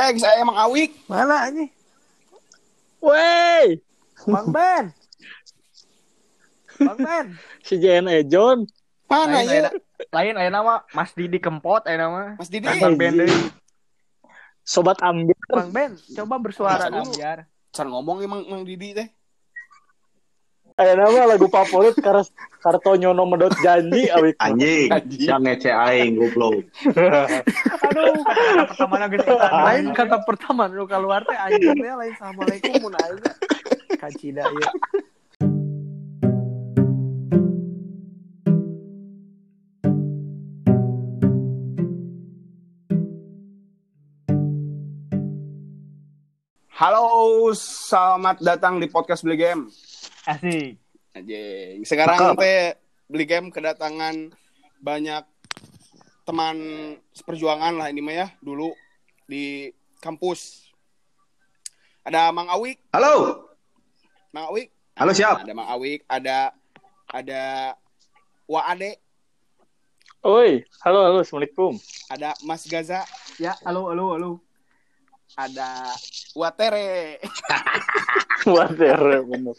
Saya emang Awik. Mana ini? Wey, Bang Ben. Bang Ben. si JNE John. Mana ya? Lain aya nama Mas Didi Kempot aya nama. Mas Didi. Bang Ben deui. Sobat ambil. Bang Ben, coba bersuara Bisa dulu. Biar. Can ngomong emang Mang Didi teh. Aya nama lagu favorit Kartonyono medot janji awik. Anjing, yang ngece aing goblok. Aduh, kata pertama geus eta. Lain kata pertama nu keluar teh anjing teh lain assalamualaikum mun aing. Kacida ieu. Halo, selamat datang di podcast Beli Game. Asik. Anjing. Sekarang teh Beli Game kedatangan banyak teman seperjuangan lah ini mah ya, dulu di kampus. Ada Mang Awik. Halo. Mang Awik. Halo, siap. Ada Mang Awik, ada Wa Ade, Oi, halo, assalamualaikum. ada Mas Gaza, Ya, halo. ada Watere. Water bener.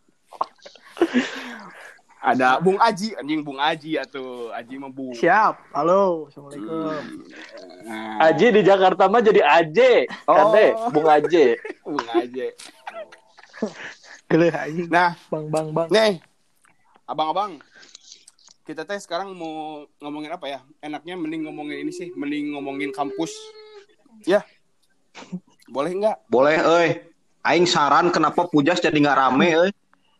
Ada Bung Aji, anjing Bung Aji atuh. Aji mah Bung. Siap. Halo, assalamualaikum. Nah, Aji di Jakarta mah jadi Aje. Kade, Bung Aje. Bung Aji. Geuleuh anjing. Nah, Bang. nih. Abang-abang. Kita teh sekarang mau ngomongin apa ya? Enaknya mending ngomongin ini sih, mending ngomongin kampus. Ya. Boleh enggak? Boleh, euy. Aing saran kenapa Pujas jadi enggak rame, euy.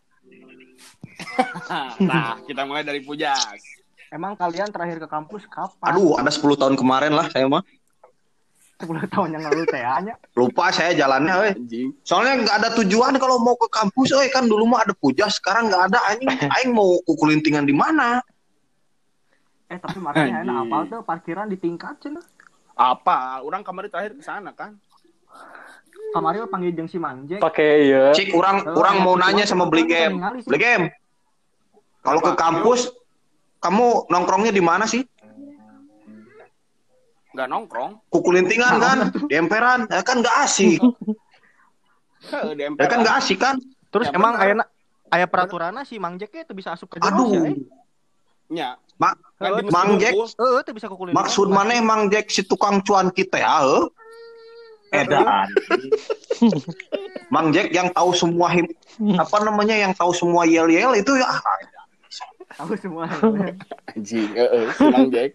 Nah, kita mulai dari Pujas. Emang kalian terakhir ke kampus kapan? Aduh, ada 10 tahun kemarin lah saya mah. 10 tahun yang lalu teh nya. Lupa saya jalannya, euy. Anjing. Soalnya enggak ada tujuan kalau mau ke kampus, euy. Kan dulu mah ada Pujas, sekarang enggak ada anjing. Aing mau kukulintingan di mana? Tapi makanya Anjing. enak apal tuh parkiran di tingkat cenah. Apa? Orang kemarin terakhir ke sana kan? Kamari panggil jeung si Manjek. Pakai ieu. Cik, orang mau nanya sama Beli Game. Beli Game. Kalau ke kampus, kamu nongkrongnya di mana sih? Enggak nongkrong. Kukulintingan kan? Di emperan. Ya kan enggak asik. Di Ya MPR. kan enggak asik kan? Terus Ya, emang bener. aya peraturanna si Mangjek teh bisa asup ke jeros Aduh. ya. Nya. Mak, Kan di Mang Jack. Bungkul. Teh bisa kukulin. maksud maneh Mang Jack si tukang cuan kita ya, edan. Mang Jack yang tahu semua apa namanya yang tahu semua yel-yel itu ya. Tahu semua. Anjing, Mang Jack.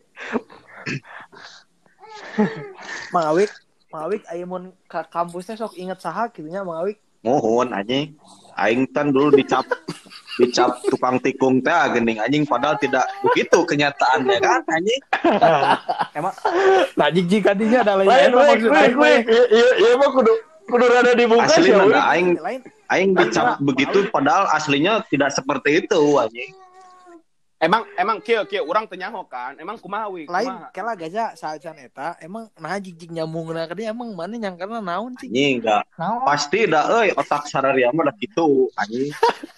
Mang Awik aya mun ka kampus teh sok inget saha kitu nya Mang Awik. Mohon anjing. Aing kan dulu dicap tukang tikung teh geuning anjing padahal tidak begitu kenyataannya kan anjing. Emang Nah, jig kadinya ada lain Lain, maksud aing we. Iya mah kudu rada dibuka Asli sih. enggak Lain. aing dicap begitu padahal aslinya tidak seperti itu anjing. Emang kieu urang teu nyaho kan. Emang kumaha we? Lain Kumaha? kela gaza saecan eta emang nah jig nyambungna ka dia emang mana nyangkana naon sih? Anjing enggak. naon? Pasti dah otak sararia mah dah kitu anjing.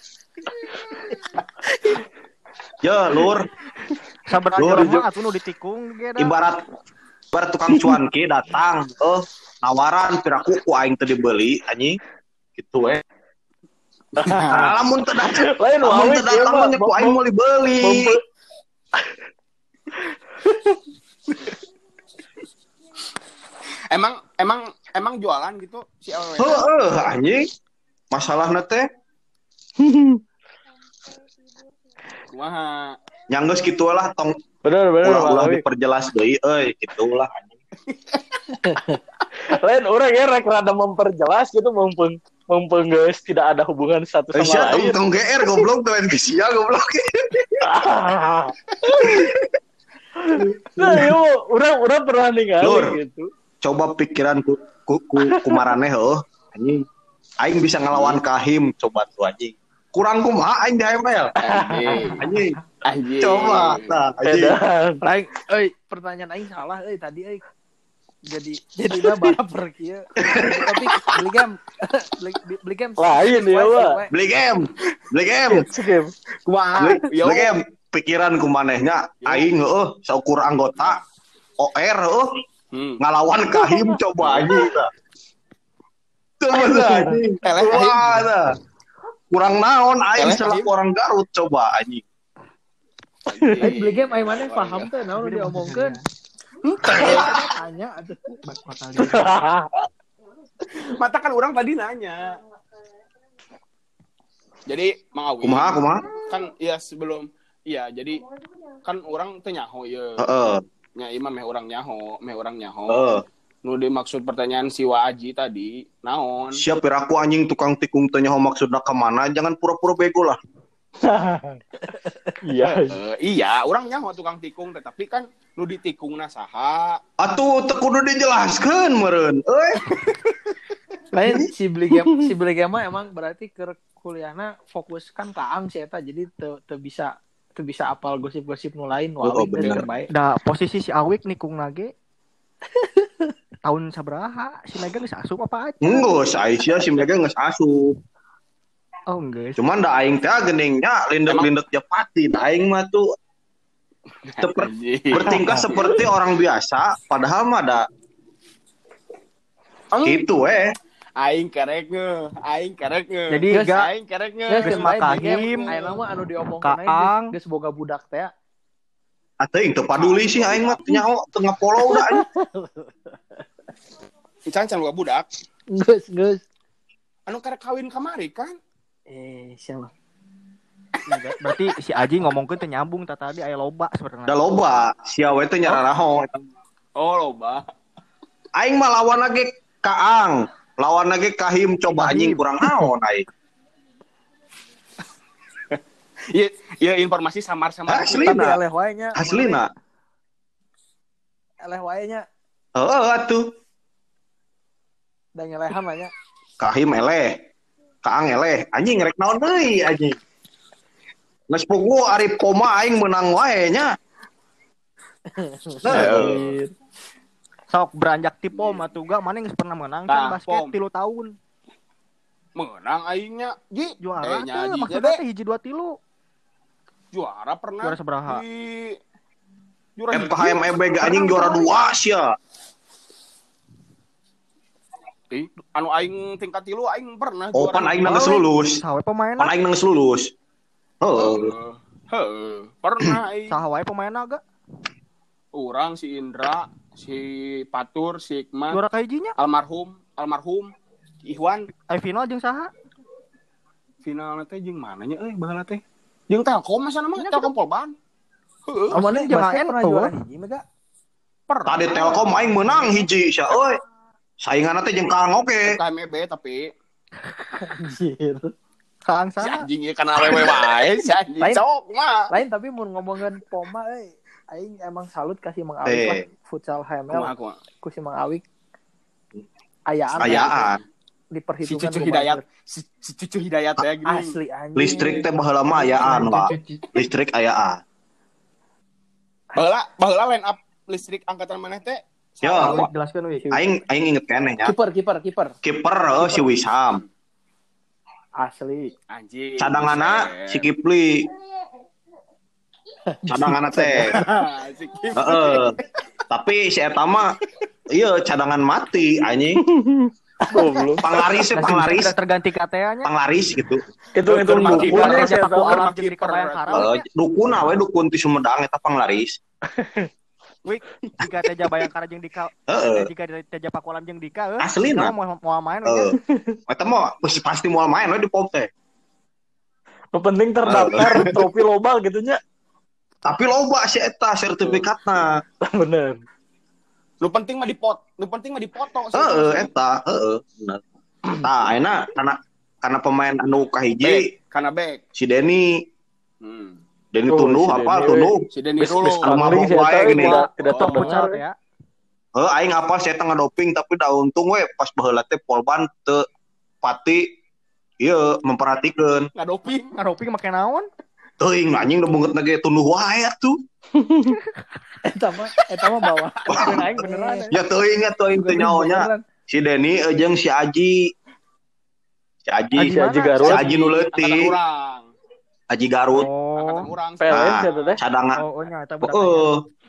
Ya, Lur. Sabenerna Lur, orang mah atuh nu ditikung ge da. Ibarat tukang cuanki datang, nawaran piraku ku aing teu dibeli anjing. Gitu Lamun teu datang, Lain lamun Awik teu datang mah nya ku aing mau dibeli. Emang jualan gitu si awewe. Heueuh anjing. Masalahna teh Kumaha? nyanggeus kitu lah tong Bener ulah Awik. diperjelas deui kitulah anjing. Lain orang ya rada memperjelas gitu mumpung guys tidak ada hubungan satu sama Sia lain. tong GR goblok tuh sia goblok. Nah, yo, orang pernah ningali Lur. gitu. Coba pikiran ku maraneh anjing. Aing bisa ngelawan Kahim coba tuh anjing. Kurang kumaha aing di ML. Anjing. Anjing. Coba tah anjing. Edan. Lain pertanyaan aing salah tadi jadinya baraper kieu. Tapi beli game. Lain ya, Wak. Beli game. Skip. Kumaha? Yo. Beli game pikiran ku manehnya aing saukur anggota OR ngalawan Kahim coba anjing tah. Teu bener anjing. Eleh Kahim. Wah, tah. Kurang naon aing Eleh selaku Kahim. orang Garut coba anjing. Aing beli game aing mana paham teh naon diomongkeun. Tanya atuh. Mata kan orang tadi nanya. Jadi Mang Awi. Kumaha? Kan ya sebelum jadi kan orang teh nyaho ieu. Heeh. Nya imam meh orang nyaho. Heeh. Nu dimaksud pertanyaan si Waji tadi naon? Siap aku anjing tukang tikung teh nyaho maksudna ka mana? Jangan pura-pura bego lah. Iya. Iya, orang nyaho tukang tikung tetapi kan nu ditikungna saha? Atuh teu kudu dijelaskeun meureun. Euy. Lain si beli game mah emang berarti ke kuliahna fokus kan kaang sih eta jadi teu bisa apal gosip-gosip nu lain Oh, bener. baik. Da posisi si Awik nikung nage tahun sabaraha si Mega geus asup apa aja? Geus Aisyah si Mega geus asup. Oh geus. Cuman da aing teh geningnya lindet-lindet japati. Da aing mah tuh bertingkah seperti orang biasa padahal mah da gitu Aing kerek nge. Jadi ga Aing kerek nge. Geus Makahim, ayeuna mah anu diomongkeun Kaang. geus boga budak teh. Atuh teu paduli sih aing mah nyaho teu ngapolo da anjing. Can boga budak. Geus. Anu kerek kawin kamari kan? Siapa? berarti si Aji ngomongkeun teh nyambung tadi aya loba sebenarnya. Da loba sia we teh nyararaho. Oh, loba. Aing mah lawan lagi Kaang. Lawan lagi Kahim coba anjing kurang naon aing. Iya informasi samar-samar. Aslina. Eleh wae nya. Aslina. Eleh wae nya. Heeh atuh. Da ngelehan mah nya. Kahim eleh. Kaang eleh. Anjing rek naon deui anjing. Geus pugu ari koma aing menang wae nya. Sok beranjak ti pom atuh ga mana geus pernah menang kan basket 3 tahun. Menang aingnya. Juara nya teh maksudna teh hiji 2 tilu. Juara pernah. Juara sabaraha? Juara FKM EBG anjing juara 2 sia. Anu aing tingkat 3 aing pernah Oh, pan aing geus lulus. Saha pemainna? Pan aing geus lulus. Pernah aing. Saha wae pemainna ga? Urang si Indra, si Patur, si Hikmat, Juara kahijinya? almarhum Ihwan. Ai final jeung saha? Finalna teh jeung mananya baheula teh? Jeung Telkom masa nama Telkom Polban. Heueuh. Amannya jeung basket AN pernah tuh. juara hiji mah Pernah. Tadi Telkom aing menang hiji sia euy. Sainganna teh jeung Kaang oge. KMEB tapi Anjir. Kaang si saha? anjing ieu kana awewe wae si anjing Lain. sok mah. Lain tapi mun ngomongin Poma aing emang salut kasih Mang Awik lah futsal HML Kumaha. ku si Mang Awik. Ayaan. Si Diperhitungkan Cucu Hidayat, si Cucu Hidayat ya gini. Asli anjing. Listrik teh baheula mah ayaan, Pak. Listrik ayaan. Baheula line up listrik angkatan maneh teh. Yo, Jelaskeun we. aing inget keneh nya. Kiper. Kiper si Wisam. Asli. Anjing. Cadanganna si Kipli. Cadanganna teh. Si Kipli. Heeh. Tapi si eta mah ieu cadangan mati anjing. Goblok. Panglaris. Udah terganti KTA-nya. Panglaris gitu. Itu Kiper dukunnya aja, sih Paku tahu. alam jeung di Kabayangkara. Dukun we dukun ti Sumedang eta panglaris. Wih, jika Teja Bayangkara jeung Dika, jika Teja Paku Alam jeung Dika, Aslina. mau main we. Eta mah pasti moal main we di POM teh. Nu penting terdaftar trofi loba gitu nya. Tapi loba si eta sertifikatna. Bener. Nu penting mah dipoto. Eta, bener. Tah, ayeuna karena pemain anu kahiji Kana back. si Denny. Denny Oh, Tunduh si apa Denny, Tunduh? Si Denny Rulo. anu mabok Paling sih wae eta gini. tidak Oh, terdengar. Futsal ya. Aing apa si eta ngadoping tapi da untung we pas baheula teh Polban teu pati ieu memperhatikeun. Ngadoping. Make naon? Teuing anjing da beungeut ge Tunduh wae tuh. Eta mah bawa. Aing beneran. Ya teuing teu nyaonya. Si Denny jeung si Aji. Si Aji Garut. Si Aji nu leutik. Angkatan urang. Aji Garut. Angkatan Oh. urang. PLN Nah, siapa teh? cadangan. Oh, nya eta budak. Heeh.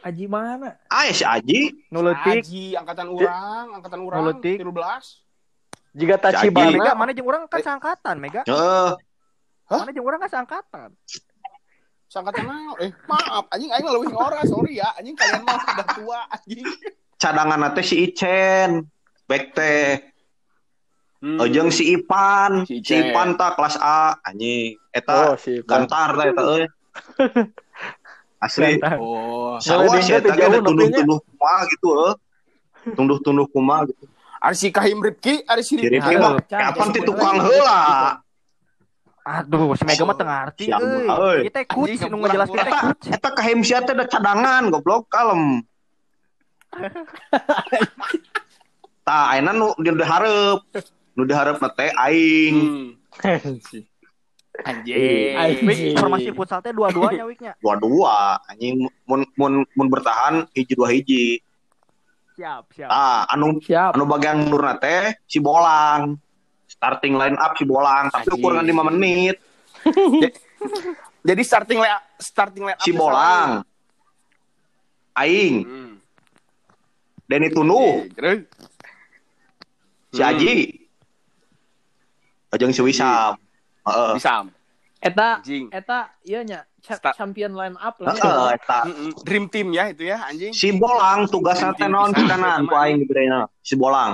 Aji mana? Ya si Aji. Nuletik. Aji angkatan urang Nuletik. 13. Jika Mega, Tachibana Mana jeung urang kan seangkatan, Mega. Heeh. Hah? Mana jeung urang kan seangkatan. Sangkatan naon? Maaf, anjing aing leuwih ngora, sorry ya. Anjing kalian mah udah tua anjing. Cadangan teh si Icen. Bek teh. Jeung si Ipan. Si Si Icen. Ipan tah kelas A anjing. Eta si Ipan. gantar tah eta euy. Asli. Gantar. Oh, Sawa sih eta ge jauh tunduh-tunduh kumaha gitu tunduh-tunduh kumaha gitu. ari si Kahim Rifki, ari si Si Rifki Aduh, mah Cang, kapan ti sebenarnya tukang gitu. heula. Aduh, si Mega mah teu ngarti Siapa, euy. euy. Ieu teh coach Anjing, nu ngajelaskeun teh coach. Eta Kahim sia teh da cadangan goblok kalem. Tah ayeuna nu dihareup. Nu dihareup teh aing. Anjing. Wik, formasi futsal teh dua-duanya wiknya. Dua-dua anjing mun bertahan hiji dua hiji. Siap. Anu Siap. bagian mundurna teh si Bolang. Starting line up si Bolang tapi Anjing. ukuran 5 menit. Jadi starting line up Si Bolang. Aing, Denny Tunuh, si Aji. Jeung si Wisam. Heeh. Bisa. Eta Anjing. ieu nya Start. champion line up lah. Heeh, eta. Dream team ya itu ya anjing. Si Bolang tugasna teh naon pisanan ku aing diberinya. Si Bolang.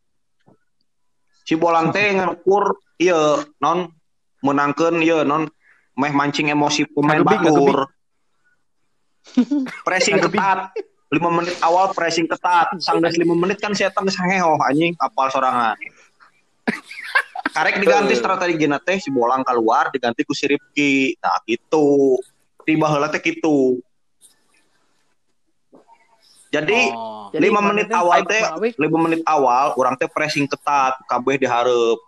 Si Bolang teh ngukur ieu non menangkeun ieu non meh mancing emosi pemain batur. Pressing ketat. 5 menit awal pressing ketat. Sanggeus 5 menit kan saya geus hangeho anjing apal sorangan. Karek diganti strategina teh si Bolang keluar diganti ku si Rifki. Nah gitu. Tiba heula teh kitu. Jadi 5 menit awal teh 5 menit awal urang teh pressing ketat kabeh dihareup.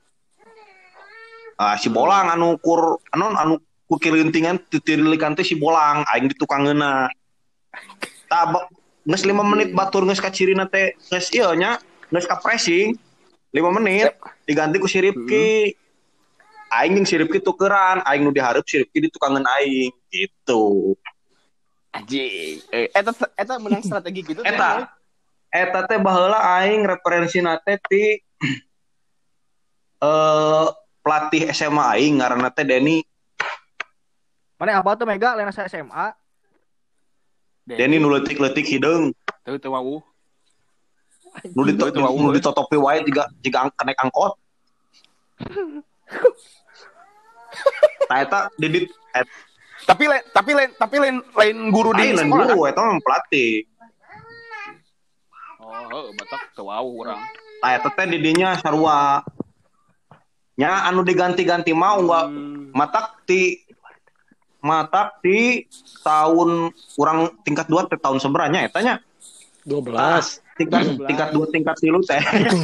Si Bolang anu kur kirintingan titirilikan teh si Bolang aing di tukangeuna. Tah geus 5 menit batur geus ka cirina teh geus ieu nya geus ka pressing 5 menit diganti ku si Rifki. Aing jeung si Rifki tukeran, aing nu dihareup si Rifki di tukangeun aing gitu. Anjing. Eta menang strategi gitu teh. Eta teh baheula aing referensina teh ti pelatih SMA aing ngaranna teh Denny. Mana apa tuh Mega lain saya SMA? Denny nu leutik-leutik hideung. Teu wawuh. Nu ditotopi wae jiga kenek angkot. Tah eta didit Tapi lain guru di lain sekolah. guru eta mah pelatih. Oh, batak teu wawuh urang. Tah eta teh di dinya sarua. Nya anu diganti-ganti mah matak ti tahun urang tingkat 2 teh tahun seberanya eta nya 12. tingkat 2 tingkat 3 teh.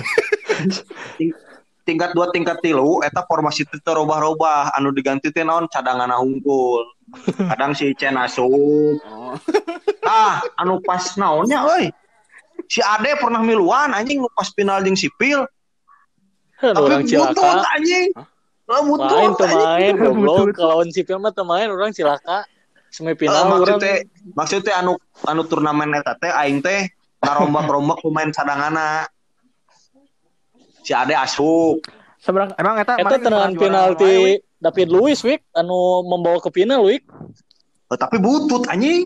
Tingkat 2 tingkat 3 eta formasi teh robah-robah anu diganti teh naon cadanganna hungkul. Kadang si Icen asup. Anu pas naonnya euy. Si Ade pernah miluan anjing nu pas final jeung sipil. Orang cilaka. Anjing. Main tuh main goblok lawan sipil mah teu main orang cilaka. Semifinal urang maksudnya anu turnamen eta teh aing teh ngarombak-rombak pemain cadanganna. Si Ade asup. Seberang Emang eta tenangan penalti David Luiz Wik anu membawa ke final Wik. Tapi butut anjing.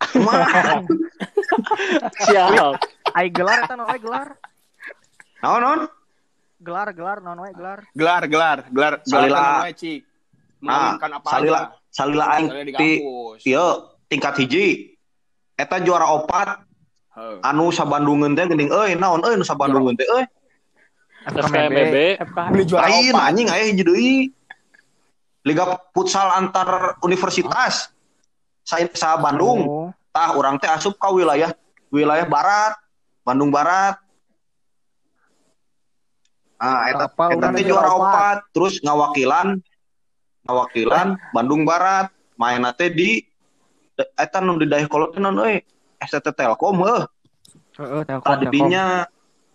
Siap. ai gelar eta naon gelar? Naon? Gelar naon wae gelar. Gelar Salila. Cik. Mengaminkan apa salila aing ieu tingkat hiji. Eta juara 4. Anu sabandungeun teh geuning euy naon euy nu sabandungeun teh euy. FKMB. Ini juara Lain 4. anjing aya hiji deui. Liga futsal antar universitas. Sa Bandung. Tah urang teh asup ka wilayah barat, Bandung Barat. Eta teh juara 4, terus ngawakilan Bandung Barat. Main teh di eta nu di Dayakolot teh naon euy? STT Telkom heuh. Heeh, Telkom. Tah didinya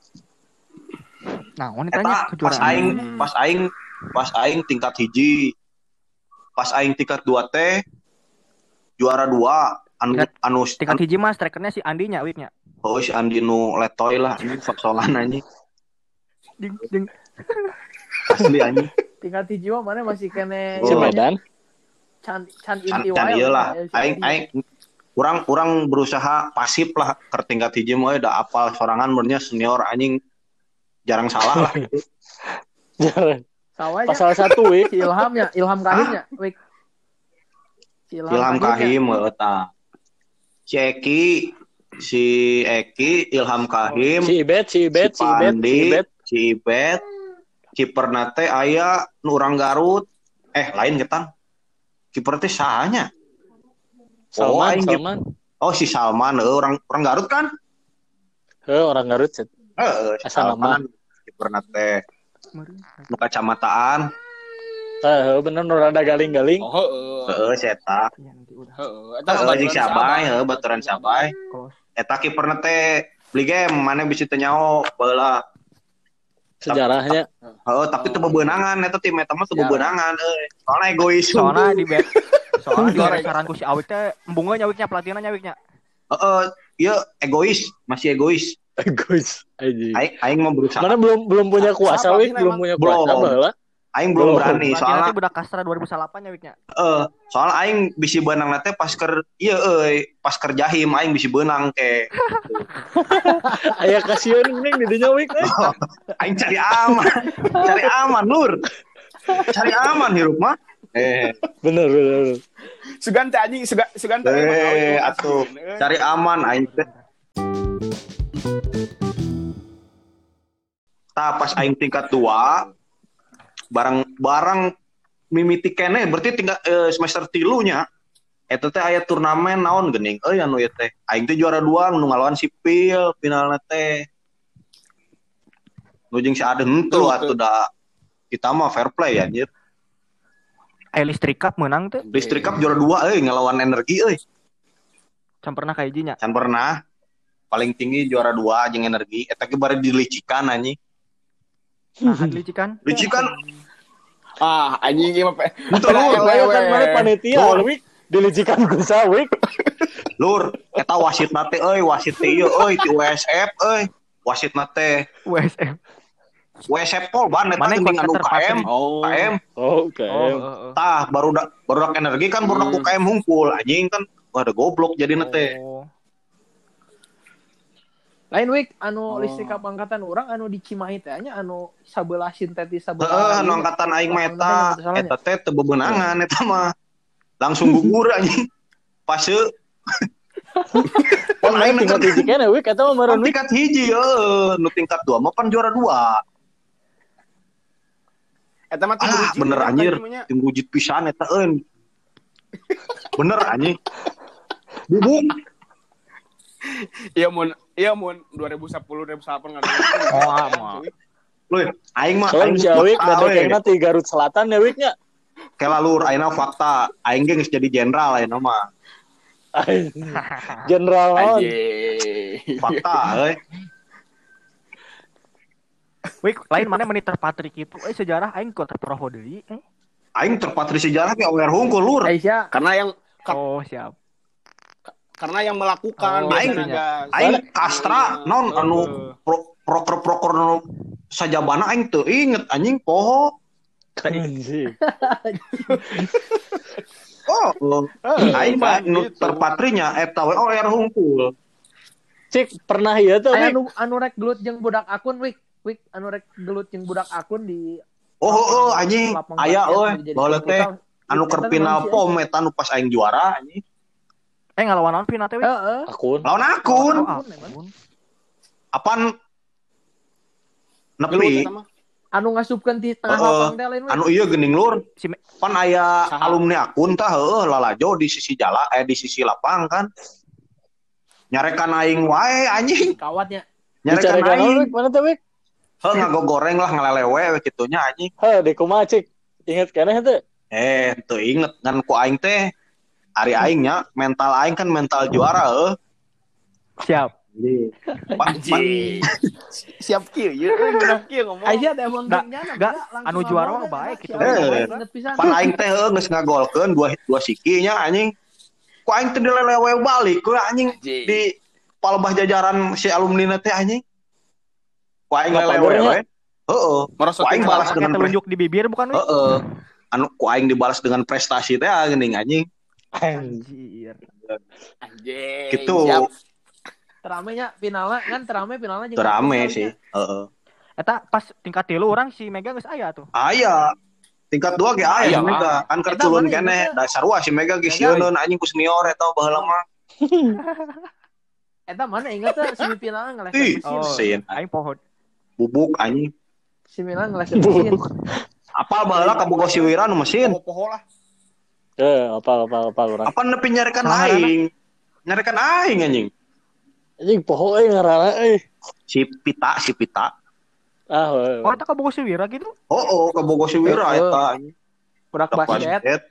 Naon ditanya kejuaraan. Pas aing tingkat hiji. Pas aing tingkat 2 teh juara 2 anu Tingkat hiji mah strikernya si Andi nya wiknya. oh si Andi nu letoy lah ini sok-sokan anjing Jeung asli anjing Tingkat hiji mah mana masih kene Si Medan. can can inti can wae. ieu lah Si aing Andi. aing urang berusaha pasif lah ke tingkat hiji mah da apal sorangan murnya senior anjing jarang salah lah gitu. Jangan. Sawanya Pasal 1 wik. si Ilhamnya, Ilham Kahimnya, wik. Si Ilham Kahim eta si Eki Ilham Kahim Si Ibet. si Ibet kiper nate aya nu urang Garut lain getan kiper teh sahanya Salman. oh si Salman orang Garut kan Orang Garut. Asal nama. kiper nate nu kacamataan Bener nu rada galing-galing. eta jeung Sabay baturan Sabay eta kiper nate beli game mana bisa teu nyao baheula Sejarahnya. tapi teu bebeunangan eta tim eta mah teu bebeunangan soalna egois soalnya di saran ku si Awik teh embungeun nyawiknya pelatihna nyawiknya. ieu egois masih egois Guys, aing mah berusaha mana belum punya kuasa wik, belum punya kuasa baheula. aing belum berani Pelatihna soalnya teh budak Kastra 2008 nyawiknya. soalnya aing bisi beunang teh pas keur pas keur jahim aing bisi beunang ke Aya kasihan mending di dinya wik. aing cari aman lur cari aman hirup mah Bener. Sugan teh anjing, sugan teh. Atuh cari aman aing teh pas aing tingkat 2 barang mimiti kene berarti tingkat semester 3 nya eta teh aya turnamen naon geuning anu ieu teh aing teh juara 2 nu ngalawan sipil finalna teh nu jeung si Aden henteu atuh da kita mah fair play anjir Listrik Cup menang teh. Listrik Cup juara 2 ngelawan energi Can pernah ka hijinya. can pernah paling tinggi juara 2 jeung energi eta ge bari dilicikan anjing Nah, licikan. Anjing ieu mah Betul, Kan mana panitia wik dilicikan ku sawik. Lur, eta wasitna teh wasit teh ieu ti USF wasitna teh USM. USF Pol ban eta Mana yang geuning anu terpatri? KM. KM. Oke. Tah barudak energi kan barudak UKM hungkul anjing kan ada goblok jadina teh. Lain wik anu listrik angkatan orang anu di Cimahi teh nya anu sabelah sintetis sabelah. Anu angkatan aing mah eta teh teu bebeunangan eta mah. Langsung gugur anjing. Pase. Aing tingkat hiji keneh wik eta mah meureun wik. Tingkat hiji nu tingkat 2 mah pan juara 2. Eta mah tim Rujit, bener ya, anjir. namanya. Tim Rujit pisan eta bener anjing. Bubuk. Iya mun 2010 2008 kan. Mah. Loh, aing mah Soalnya si Awik dadekna ti Garut Selatan ya wiknya. kelalur ayeuna fakta aing ge geus jadi jenderal ayeuna mah. Jenderal naon? Fakta Wik, lain mana menit terpatri kitu sejarah aing kok terproho deui. Aing terpatri sejarah ge awer hungkul lur. Aisyah. Siap. Karena yang melakukan Aing kastra non anu proker nu sajabana aing teu inget anjing poho. Anjing. Aing mah nu terpatrinya eta we awer hungkul. Cik pernah ieu tuh Aya wik. anu rek gelut jeung budak akun wik anu rek gelut jeung budak akun di Anjing aya baheula teh anu keur final pom eta nu pas aing juara anjing. Ngalawan naon final teh? Heeh. Akun. Lawan akun. Apaan nepi Anu ngasupkeun di tengah lapang teh lain anu ieu geuning lur. Pan aya alumni akun tah lalajo di sisi jala di sisi lapang kan. Nyarekan aing wae anjing. kawatnya. Nyarekan aing. Mana tuh wik? Ngagogoreng lah ngalelewe we kitunya anjing. Di kumaha cik? Ingat keneh teh? Teu inget ngan ku aing teh ari aing nya mental aing kan mental juara Siap. Siap kieu ieu beunang kieu ngomong. Aisyah teh emang Enggak, anu juara mah baik gitu. Pan aing teh geus ngagolkeun dua siki nya anjing. ku aing teh dilelewe balik ku anjing Anjing. di palebah jajaran si alumni teh anjing. Ku aing Bapak lelewe dornya. we. Heeh. Ku Merosotin aing balas celana. dengan telunjuk di bibir bukan, Wik? heeh. Anu ku aing dibalas dengan prestasi teh geuning anjing. Anjir. Anjing. Gitu. Siap. Teramenya finalnya kan finalnya jeung Terame kampus sih. kalinya. Heeh. Eta pas tingkat 3 orang si Mega geus aya tuh. Aya. Tingkat 2 ge aya Aya si Mega. Kan keur Eta culun mana keneh. ingetnya? Da sarua si Mega ge Mega, sieun anjing ku senior eta baheula mah. Eta mana inget tuh semifinalnya ngeleset Ih, mesin. sin. Aing pohon. Bubuk anjing. Semifinal ngeleset mesin. Apal baheula ka boga si Wira nu mesin. Poho-poho lah. Apa orang. Apa nepi nyarekan Salah aing? Nyarekan aing anjing. Anjing poho ngaranna Si Pita. Ah, Oh, eta kabogo si Wira gitu. Oh, ka boga si Wira eta anjing. Budak basket. Basket.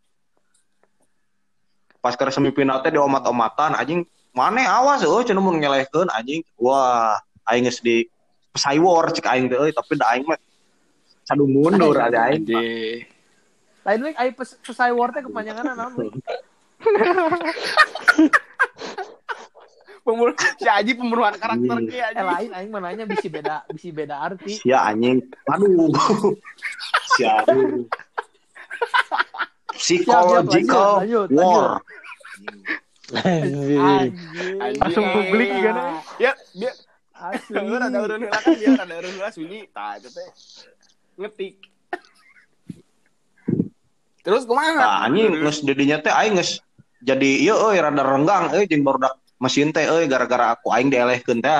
Pas ke semifinal teh diomat-omatan anjing. Mane awas cenah mun ngelehkeun anjing. Wah, aing geus di Cywar cek aing teh tapi da aing mah sadu mundur ada aing. Anjing. Lain week ai pesai war teh kepanjangan naon week. Si Aji pembunuhan karakter ge Aji. Lain aing mah nanya bisi beda arti. Sia anjing. Aduh. Sia aduh. Psychological Lanjut. war. anjing. Langsung publik gimana? Ya, dia Asli. ada urun heula kan dia ada urun heula sunyi. Tah itu teh ngetik. Terus kumaha? Nah, anjing geus didinya teh aing geus jadi ieu rada renggang jeung barudak mesin teh gara-gara aku aing dielehkeun teh.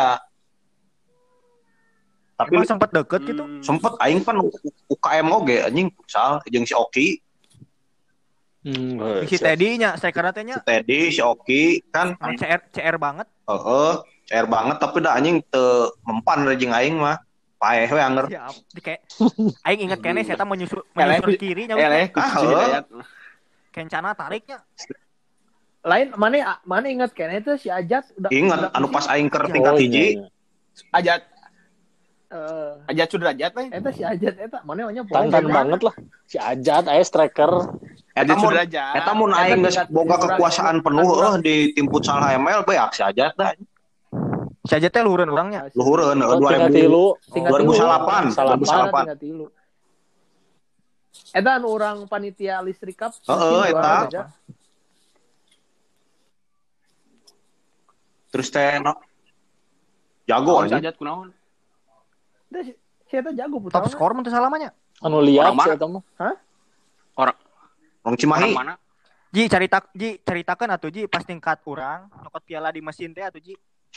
Tapi Emang sempat deket gitu. sempet aing kan UKM oge anjing futsal jeung si Oki, Si Teddy nya, striker teh nya si Teddy, si Oki kan CR banget. cair banget tapi da anjing teu mempan jeung aing mah. Paeh we anger. Siap. Kayak aing inget kene saya menyusul kiri nya. Hidayat. Kencana tariknya. Lain mana ingat kan itu si Ajat udah Ingat anu pas aing keur tingkat hiji. Ajat eh Ajat Sudrajat teh. eta si Ajat eta mana nya Tantan banget lah. Si Ajat aya striker. Eta mun Sudrajat. eta mun aing geus boga kekuasaan penuh di tim futsal HML beak si Ajat dah. Si Ajat teh luhureun urangnya. Luhureun Tingkat 2008. Eta anu orang panitia listrik cup. Eta. Terus teh jago aja. Ajat kunaon? Si eta jago putra. Top skor mun teu salamanya. Anu liat Orang si mana? eta mah. Orang Cimahi. Orang mana? Ji ceritakeun atuh Ji pas tingkat urang nyokot piala di mesin teh atuh Ji.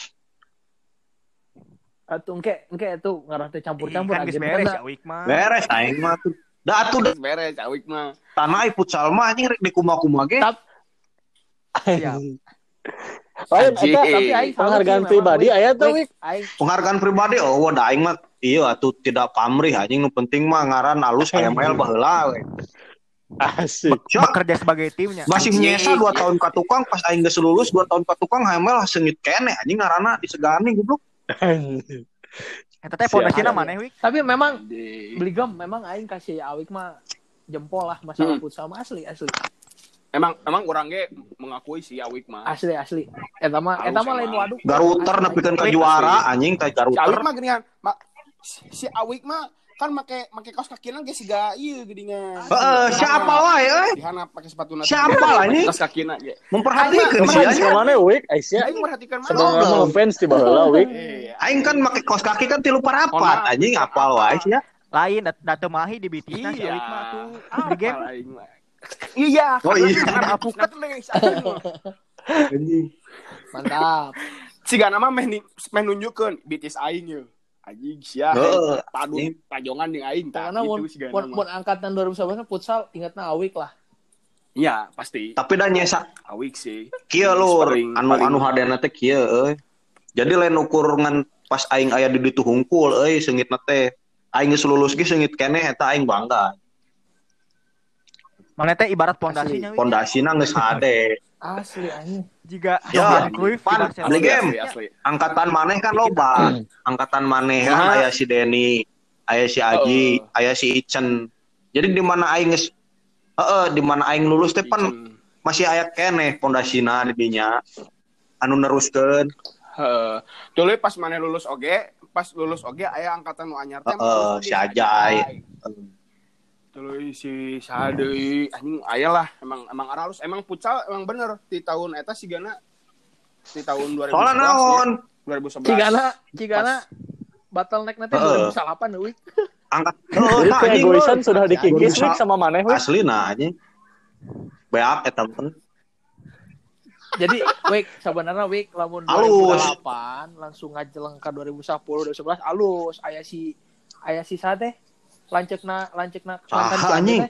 Atuh engke itu ngarah teh campur-campur Kan geus beres ya Wik mah. Beres aing mah tuh. Da atuh Beres cawik mah. tanah futsal mah anjing rek di kuma-kuma ge. Siap. Lain Anjing. eta Tapi aing penghargaan pribadi aya tuh Wik. Aing Penghargaan pribadi da aing mah ieu atuh tidak pamrih anjing nu penting mah ngaran alus HML baheula we. Asik. Bekerja sebagai timnya. Masih nyesa 2 tahun ka tukang pas aing geus lulus 2 tahun ka tukang HML seungit keneh anjing ngaranna disegani goblok. Eta teh pondasina maneh Wik. tapi memang Bligam memang aing kasih Awik mah jempol lah masalah futsal mah asli. Emang orang ge mengakui si Awik mah. Asli. Eta mah lain waduk. Garuter nepikeun ka juara anjing teh Si Awik garuter. mah geuningan. Si Awik mah kan make kaos kakinan ge siga ieu geuningan. Siapa wae euy? Dihanap pakai sepatu nati. Siapa lah ini? Kaos kakina ge. Memperhatikan sih Fans anjing. mana Wik? Aisyah. Aing merhatikan mana? Sebenarnya mah fans di baheula Wik. Aing kan make kaos kaki kan 3 parapat anjing apal wae sia. Lain datu mahi di bitisna si Wik mah tuh. Di game. Iya. Oh iya. Karena apukat Anjing. Mantap. Sigana mah meh nunjukkeun bitis aing ye. Anjing sia. Padu tajongan jeung aing tah Karena gitu sigana mun mah. angkatan 2011 futsal ingatna Awik lah. Iya, pasti. Tapi da nyesa Awik sih. kieu lur Paling- anu hadena teh kieu euy. Jadi lain ukur ngan pas aing aya di ditu hungkul euy seungitna teh aing geus lulus ge seungit keneh eta aing bangga. Mana teh ibarat pondasinya Wik. Pondasina geus hade. Asli anjing. Jika Ya, Johan Cruyff di pan, Barcelona. beli game. Asli. Angkatan maneh kan loba. Angkatan maneh kan aya si Denny, aya si Aji, aya si Icen. Jadi di mana aing geus di mana aing lulus teh pan masih aya keneh pondasina di dinya anu neruskeun. Dulu pas mana lulus oge aya angkatan nu anyar teh Si Ajay. Tuluy si Sadeui anjing aya lah emang aralus emang futsal emang bener di tahun eta sigana di tahun 2011 Soalnya naon? 2011 Cigana bottleneck nanti 2008 euy. Angkat Jadi keegoisan sudah dikikis Bisa. Wik sama maneh Wik. aslina anjing. Beak eta pun. Jadi Wik sebenarnya Wik lamun Alus. 2008 langsung ngajeleng ka 2010 2011 alus aya si sate lanceukna Saha anjing?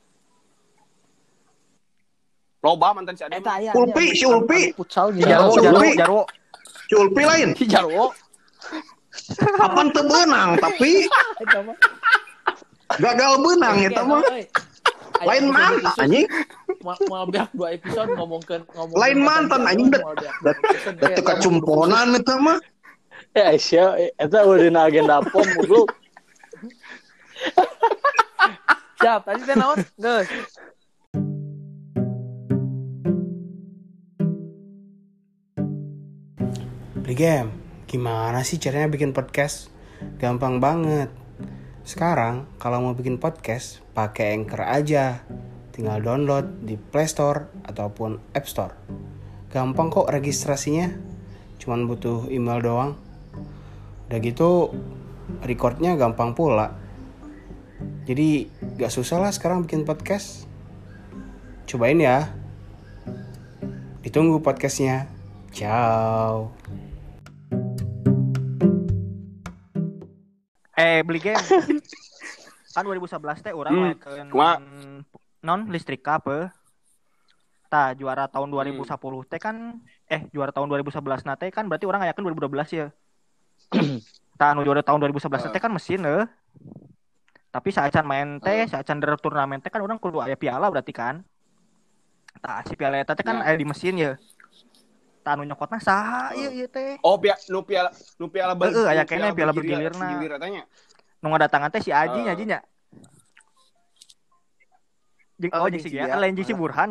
loba mantan si Ade eta aya Ulpi, si Ulpi. futsal Jarwo. Si Ulpi lain. si Jarwo Apaan teu beunang tapi eta mah gagal beunang eta mah. Lain mantan anjing. Mau beak 2 episode ngomong Lain mantan anjing teu kacumponan eta mah. Ya Aisyah eta udah dina agenda pom dulu. siap tadi teh naon geus Bligem, gimana sih caranya bikin podcast? Gampang banget. Sekarang kalau mau bikin podcast, pakai Anchor aja. Tinggal download di Play Store ataupun App Store. Gampang kok registrasinya. Cuman butuh email doang. Udah gitu, recordnya gampang pula. Jadi gak susah lah sekarang bikin podcast. Cobain ya. Ditunggu podcastnya. Ciao. Beli game. Kan 2011 teh urang ngelakeun non listrik apa? Tah juara tahun 2010 teh kan juara tahun 2011 na teh kan berarti urang ngayakeun 2012 ya. Tah anu juara tahun 2011 teh kan mesin Tapi saacan main teh, saacan der turnamen teh kan urang kudu aya piala berarti kan. Tah si piala eta teh kan aya di mesin ya. Tah anu nyokotna saha ieu teh? oh nu piala Aya keneh piala bergilirna. Katanya Nu ngadatangan teh si Aji nya. Jeung si Gia, lain si Burhan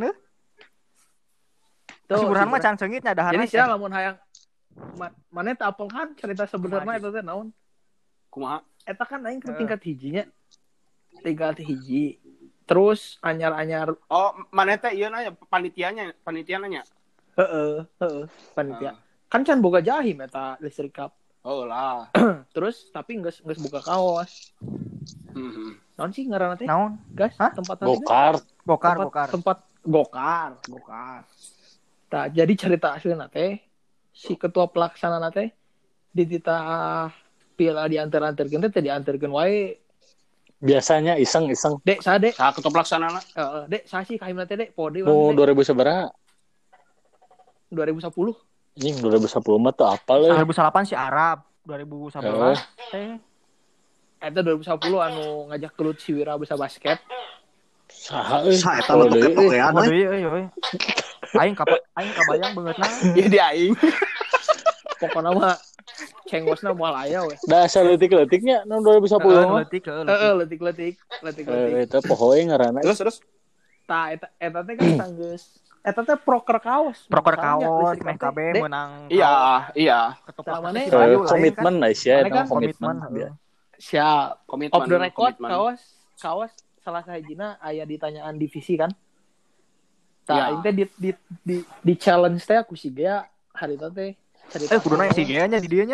Si Burhan mah can seungit nya daharna. jadi sia lamun hayang mana teh apel kan cerita sebenarnya eta teh naon kumaha eta kan aing ke tingkat hijinya tingkat hiji terus anyar-anyar mana teh ieu nanya panitia nanya panitia kan can boga jahim eta listrik cup lah terus tapi geus buka kaos naon sih ngaranna teh Naon? gas tempat Gokar. tempat gokar tah jadi cerita aslinya teh si ketua pelaksana teh di titah piala diantar-antarkeun teh diantarkeun wae Biasanya iseng. dek ketua pelaksana dek sasi kahimna teh dek pode Mau 2000 sabaraha? 2010 Anjing 2010 mah tuh apal ya. 2008 si Arab, 2011 teh eta 2010 anu ngajak kelut si Wira bisa basket Saha euy. Sa eta mah toke-tokean Waduh euy. Aing kabayang beungeutna. ya di aing pokoknya mah cengosna moal aya we Da asa leutik-leutiknya nu 2010 mah. letik Eta pohoe ngaranna. terus tah eta teh kan sanggeus eta teh proker kaos meh KB menang. iya Tah mana Komitmen Aisyah eta kan komitmen. siap komitmen off the record kaos salah sahijina aya ditanyaan divisi kan tah Ya. itu di challenge teh aku sih Gea hari itu teh cerita Kuduna si Gea nya di dieu nya.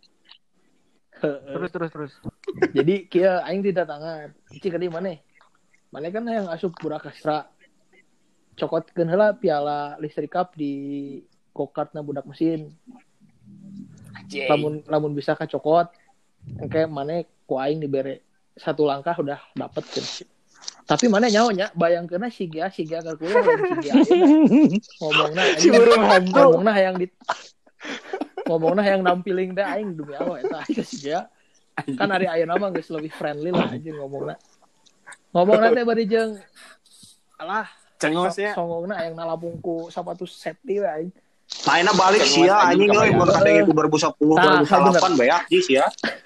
Terus. jadi kieu aing tidak tangan cik di mana kan yang asup Burakastra cokotkeun heula piala listrik cup di go-kartna budak mesin lamun bisa kacokot engke maneh ku aing dibere satu langkah udah dapet kan. Tapi mana nyawa bayangkeun si Gia keur kuliah lain si Gia ngomongna hayang nampilin teh aing demi Allah eta si Gia kan ari ayeuna mah geus leuwih friendly lah anjing ngomongna teh bari jeung alah cengosnya songongna hayang nalabung ku sapatu safety we aing Lainnya balik sia anjing euy mun KDG ku 2010 2008 beak sia.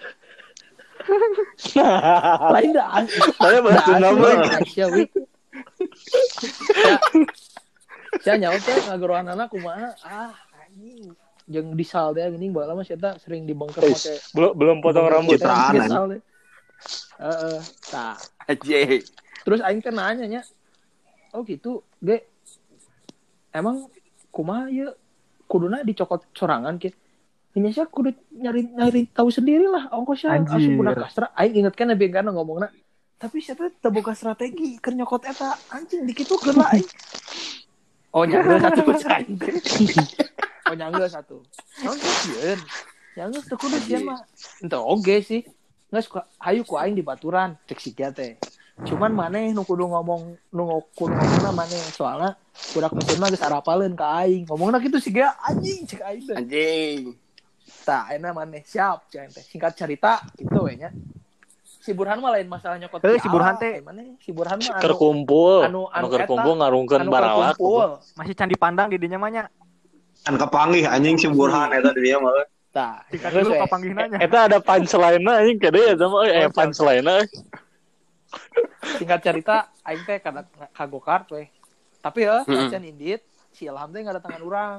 lain dah Saya bahas nama. Aisyah wi Saya nyaut teh ngageroan anak kumaha anjing jeung disal teh geuning baheula mah eta sering dibengker make Belum potong rambut. Citraan, disal teh. Heeh. Tah. Aje. Terus aing teh nanya nya. Oh gitu, ge. Emang kumaha ieu kuduna dicokot sorangan kieu. Ini sih kudu nyari tahu sendirilah ongkosnya asup budak kastra. Aing ingetkeun nepi kana ngomongna. Tapi siapa teu boga strategi keur nyokot eta anjing dikitukeun lah aing. Oh nyanggeus satu aing. Oh nyanggeus satu. Naon sieun? Nyanggeus teu kudu sieun mah. Ente oge sih. Geus hayu ku aing di baturan cek siga teh. Cuman maneh nu kudu ngomongna maneh soalna budak mesin mah geus arapaleun ka aing. Ngomongna kitu siga anjing cek aing teh. Anjing. Tah ayeuna maneh siap cek teh. Singkat cerita kitu we nya. Si Burhan mah lain masalah nyokot si Burhan teh maneh si Burhan mah Keur kumpul, anu keur kumpul ngarungkeun baralak. masih can dipandang di dinya mah nya. Kan kepanggih anjing si Burhan eta di dia mah. Tah, Tingkat dulu kapanggihnanya. Eta ada punchline-na anjing kade ya sama punchline-na. Singkat cerita aing teh kada kagokart we. Tapi ya can indit si Ilham teh ngadatangan urang.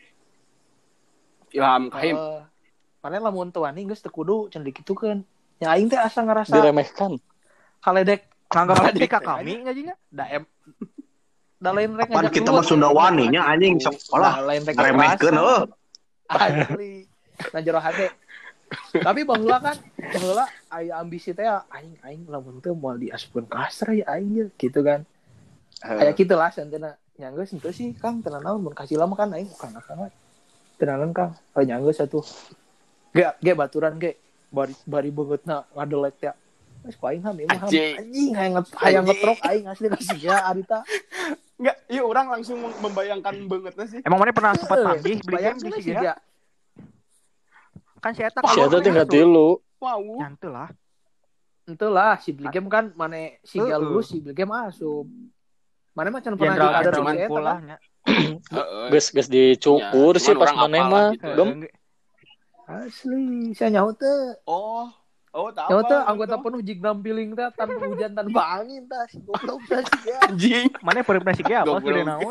Ilham Kahim. Maneh lamun teu wani geus teu kudu can dikitukeun. Ya aing teh asa ngarasa Diremehkan. kaledek Nganggap ledek ka kami nya jinya. Da lain rek Apaan kita mah Sunda wani nya anjing sekolah. Lain rek Remehkeun heuh. asli. Na jero hate. Tapi baheula aya ambisi teh aing lamun teu moal diasupkeun ka astra ya aing gitu kan. Aya kitu lah santena. Nyanggeus henteu sih Kang tenan naon mun kasih lama kan aing bukan akang. Tenanan Kang. Nyanggeus atuh. Ge baturan ge. Bari beungeutna ngadelek teh. Wes ku aing ham anjing hayang ngetrok aing asli sia arita. Enggak, iya orang langsung membayangkan bangetnya sih. Emang mana pernah sempat panggih beli game di Siga? Kan si eta Si eta tinggal tilu. Wow. Nyantu lah. Entulah si beli game kan mana Siga lulus si beli game asup. Mana mah can pernah ada si cuman eta pula kan. nya. Geus dicukur Ya, sih cuman pas orang maneh apal mah. gitu. Gem. Asli, saya nyaho teh. Oh, tahu. Nyaho teh anggota penuh jig nampiling teh tanpa hujan tanpa angin teh si goblok teh si ya. Anjing. Mana pernah si Siga apa Goblok. kira naon?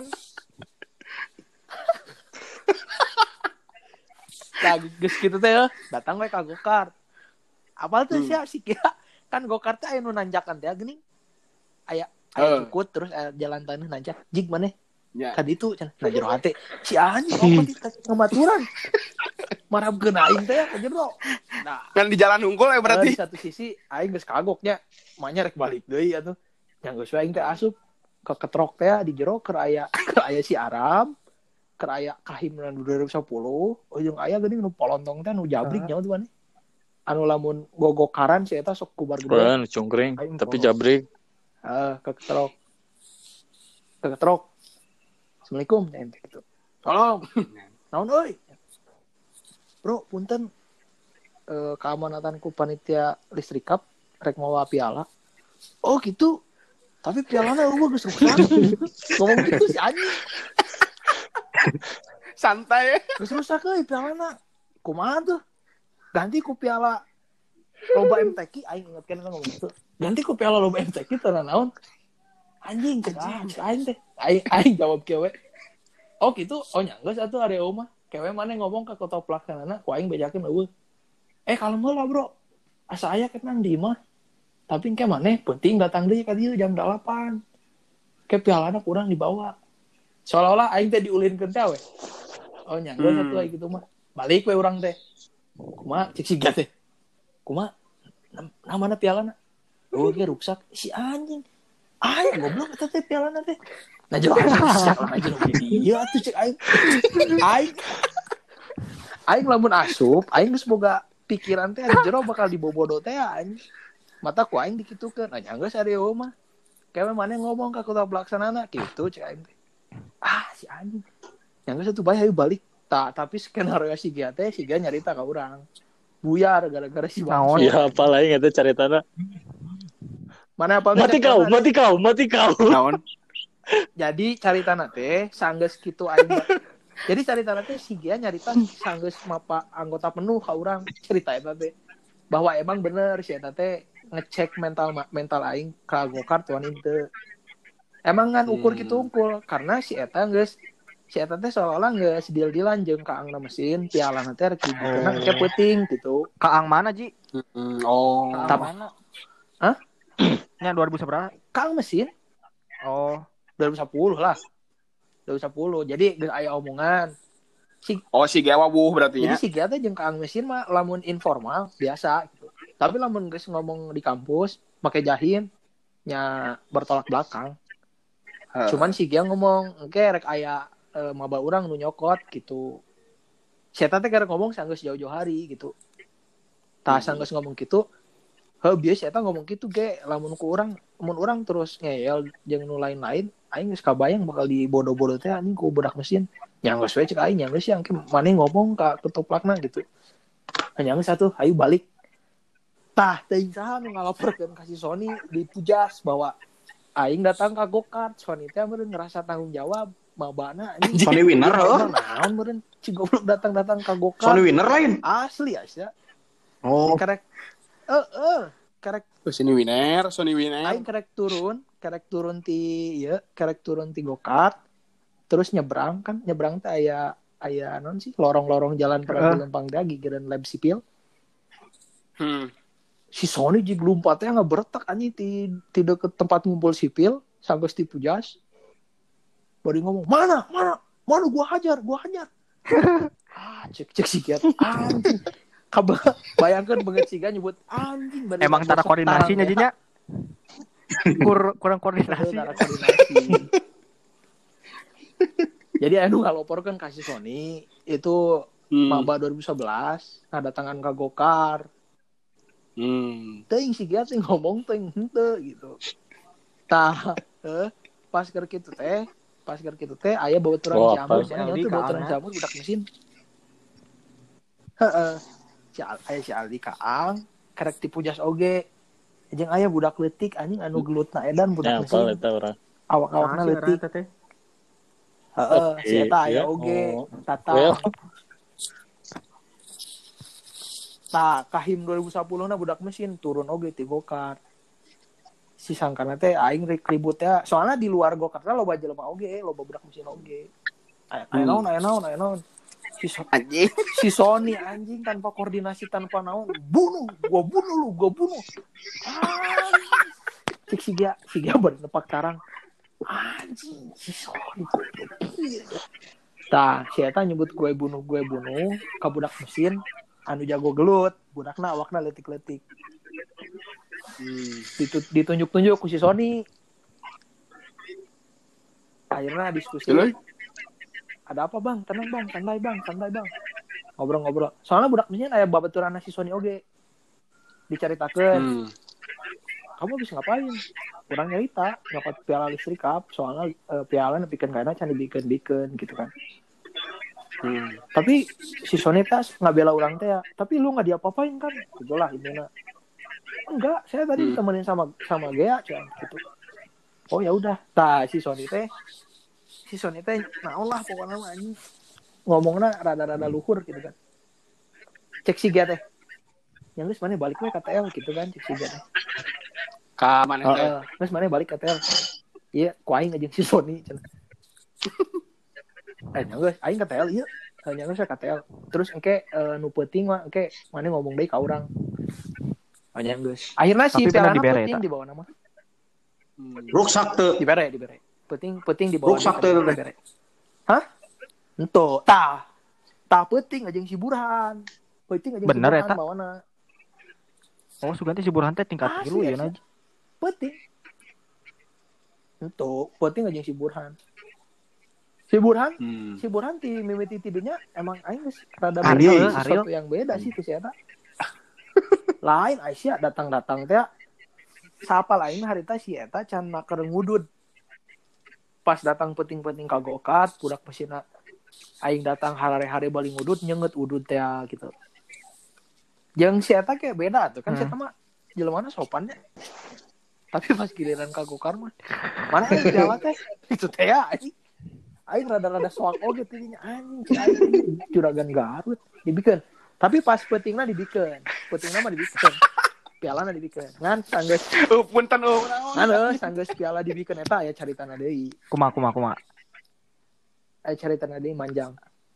Nah, geus kitu teh datang we ka gokart. Apal teh si Siga kan gokart teh aya nu nanjakan teh geuning. Aya cukut terus jalan tanah nanjak. Jig maneh Ya. kan itu can nah jero hate si anjing apa di ngamaturan marabkeun aing teh ka jero. Nah, Kan di jalan unggul ya di berarti. satu sisi aing geus kagoknya manya rek balik deui atuh. Yang geus aing teh asup ke ketrok teh di jero keur aya si Aram, keur aya Kahim 2010, ujung aya geuning nu polontong teh nu jabrik nyaho tuh maneh. Anu lamun gogokaran si eta sok kubar gede. Kan cungkring tapi jabrik. Ke ketrok. Assalamualaikum ente gitu. Tolong. Naon euy? Bro, punten keamanatanku panitia listrik cup rek mawa piala. Oh gitu. Tapi pialana eueuh geus rusak. Ngomong gitu si anjing. Santai. Geus rusak euy pialana. Kumaha tuh? Ganti ku piala loba MTQ aing ingetkeun kan ngomong gitu. Ganti ku piala loba MTQ teh naon? Anjing cek aing teh. Aing jawab kieu we. Oh gitu. Oh nyanggeus atuh areo mah. Kewe maneh ngomong ka ketua pelaksanana ku aing bejakeun eueuh. Kalem heula bro. Asa aya ket nang di mah. Tapi engke maneh penting datang deui ka dieu jam 8. Ke pialana kurang dibawa. Seolah-olah aing teh diulinkeun teh we. Oh nyanggeus atuh aya kitu mah. Balik we urang teh. Kumaha cek siga teh. Kumaha? Namana pialana? Oh ge rusak. Si anjing. Aya goblok eta teh pialana teh. Nah jero iya atuh cek aing. Aing lamun asup, aing geus boga pikiran teh di jero bakal dibobodo teh anjing. Mata ku aing dikitukeun. Nya geus areo mah. Kayak maneh ngomong ka ketua pelaksanana kitu cek aing teh. Si anjing. Nya geus atuh bae hayu balik. Tapi skenario Siga teh Siga nyarita ka urang. Buyar gara-gara si Bang. Ya apa lain eta caritana. Mana apa Mati kau. Naon? Jadi caritana teh sanggeus kitu aing. Jadi caritana teh Siga nyarita sanggeus mapa anggota penuh ka urang cerita eta teh. Bahwa emang bener si eta teh ngecek mental aing ka gokart tuan teu. Emang kan ukur gitu unggul karena si eta teh seolah-olah geus deal-dealan jeung kaangna mesin piala teh rek dibikeun ke peuting gitu. Kaang mana Ji? Oh. Kaang mana? Hah? Nya 2000 berapa? Kaang mesin Oh, 2010 lah. 2010. Jadi geus aya omongan. Si Gewa wuh berarti Jadi ya. si Gia teh jeung kaang mesin mah lamun informal biasa gitu. Tapi lamun geus ngomong di kampus make jahin nya bertolak belakang. Cuman si Gia ngomong, "Engke rek aya maba urang nu nyokot gitu." Si eta teh keur ngomong sanggeus jauh-jauh hari gitu. Tah sanggeus ngomong kitu, heuh bieu si eta ngomong kitu ge lamun urang terus ngeyel jeung nu lain-lain, aing geus kabayang bakal dibodo-bodo teh anjing ku budak mesin. Nya geus we cek aing nya geus yang maneh ngomong ka ketuplakna gitu. Hanya geus satu, ayo balik. Tah teuing saha nu ngalaporkeun ka si Sony di Pujas bahwa aing datang ka go-kart, Sony teh meureun ngerasa tanggung jawab mabana anjing. Sony winner heuh. Naon meureun si goblok datang ka go-kart. Sony winner lain. Asli asa. Oh. Karek karek Sony winner. aing karek turun ti go-kart terus nyebrang teh aya non sih lorong-lorong jalan pada lempang dagi geran lab sipil. Si Sony jig lompatnya ngebertak anjing ti deket tempat ngumpul sipil sanggeus ti Pujas. Bari ngomong, "Mana gua hajar." Cek si Giat anjing. Bayangkeun beungeut siga nyebut anjing. emang tara koordinasinya Ji nya. Kurang koordinasi. Jadi anu ngaloporkeun ka si Sony itu maba 2011 ngadatangan ka go-kart. Teuing si Gia teh ngomong teuing henteu gitu. Tah, pas keur kitu teh aya babaturan jamur, nya teh babaturan jamur budak mesin. Heeh. Si Aldi Kaang karek ti Pujas oge. Jeung aya budak leutik anjing anu gelutna edan budak mesin. Awak-awakna leutik. Heeh, si eta aya oge. Tata. Tah kahim 2010 na budak mesin turun oge ti go-kart. Si sangkana teh aing ribut teh soalnya di luar go-kart loba jelema oge, loba budak mesin oge. Aya naon. Si Sony anjing tanpa koordinasi tanpa naon, gua bunuh. Cek si Gia bari nepak tarang. Anjing si Sony. Tah, si eta nyebut gue bunuh ka budak mesin anu jago gelut, budakna awakna leutik-leutik. Ditunjuk-tunjuk ku si Sony. Akhirnya diskusi. Ada apa bang? Tenang bang, santai bang. Ngobrol. Soalnya budak mesin aya babaturan si Sony oge. Dicaritakeun. Kamu bisa ngapain? Kurang nyerita, nyokot piala listrik up. Soalnya piala nepikeun kana can dibikeun gitu kan. Tapi si Sony tas ngabela urang teh ya. Tapi lu enggak diapa-apain kan? Gitulah intinya. Enggak, saya tadi ditemenin sama Gea gitu. Oh ya udah. Tah si Sony teh naon lah pokoknya mah anjing. Ngomongna rada-rada luhur gitu kan. Cek si Gea teh. Yang geus maneh balik we ka TL gitu kan cek si Gea teh. Ka maneh teh. Geus maneh balik ka TL. Iya, ku aing jeung si Sony cenah. Geus aing ka TL ieu. Hanya geus ka TL. Terus engke nu peuting mah engke maneh ngomong deui ka urang. Hanya geus. Akhirnya si pialana peuting di bawah nama. Ruksak teu. Dibere. Peuting di bawah. Ruksak teu. Hah? Ento. Tah peuting jeung si Burhan. Peuting jeung si Burhan bawana. Oh, suganti si Burhan teh tingkat 3 ya aja. Peuting. Ento, peuting jeung si Burhan. Si Burhan ti mimiti tidinya emang aing geus rada beda sesuatu yang beda sih tuh si eta. Lain Aisyah datang teh sapal aing harita si eta can keur ngudud. Pas datang penting-penting ka go-kart budak mesinna aing datang harare-hare bali ngudud nyeungeut udud teh gitu. Jeung si eta kayak beda tuh kan si eta mah jelemana sopannya. Tapi pas giliran ka go-kart mah mana yang piala teh itu teh anjing. Aing rada-rada soak oge tidinya anjing juragan Garut dibikeun. Tapi pas peutingna dibikeun. piala dibikeun. Ngan sanggeus Punten sanggeus piala dibikeun eta aya caritana deui. Kumaha. Aya caritana deui manjang.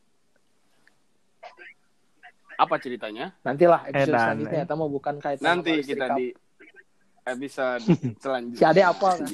Apa ceritanya? Nantilah episode Edan, selanjutnya eta mah bukan kaitan Nanti sama kita listrik di episode selanjutnya. Si Ade apa kan?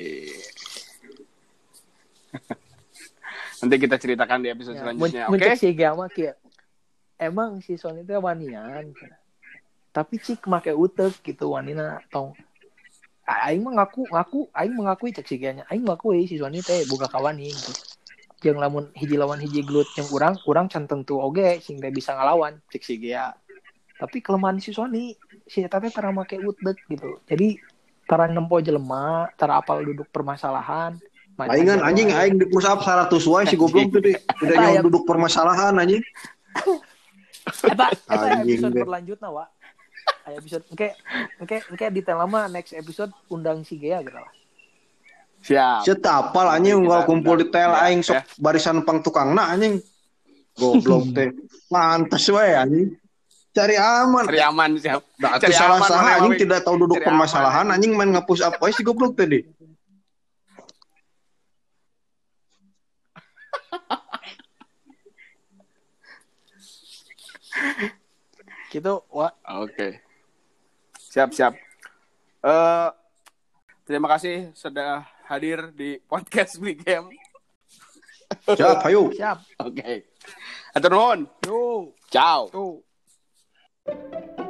Nanti kita ceritakan di episode selanjutnya. Oke. Muncul si Gama kieu. Emang si Sony teh wanian. Tapi cik make utek gitu wanina tong. Aing mah ngaku aing mengakui cek si Ganya. Aing mengakui si Sony teh boga kawani gitu. Jeung lamun hiji lawan hiji gelut jeung urang can tentu oge sing teh bisa ngalawan cek si Gea. Tapi kelemahan si Sony si eta teh tara make utek gitu. Jadi tara nempo jelema, tara apal duduk permasalahan. Aing aing di push up 100 wae si goblok teh tidak nyawa duduk permasalahan anjing. Eta episode berlanjutna wa. Aya episode engke detail lama next episode undang si Gea gitu lah. Siap. Cetak apal anjing unggal kumpul detail aing sok barisan pang tukangna anjing. Goblok teh. Mantes wae anjing. Cari aman Siap. Da atuh salah anjing tidak tahu duduk permasalahan anjing main nge-push up wae si goblok teh deh. Gitu, Wak. Oke. Siap. Terima kasih sudah hadir di podcast Beli Game. Siap, ayo. Siap. Oke. Atur nuhun. Yo. Ciao. Tuh.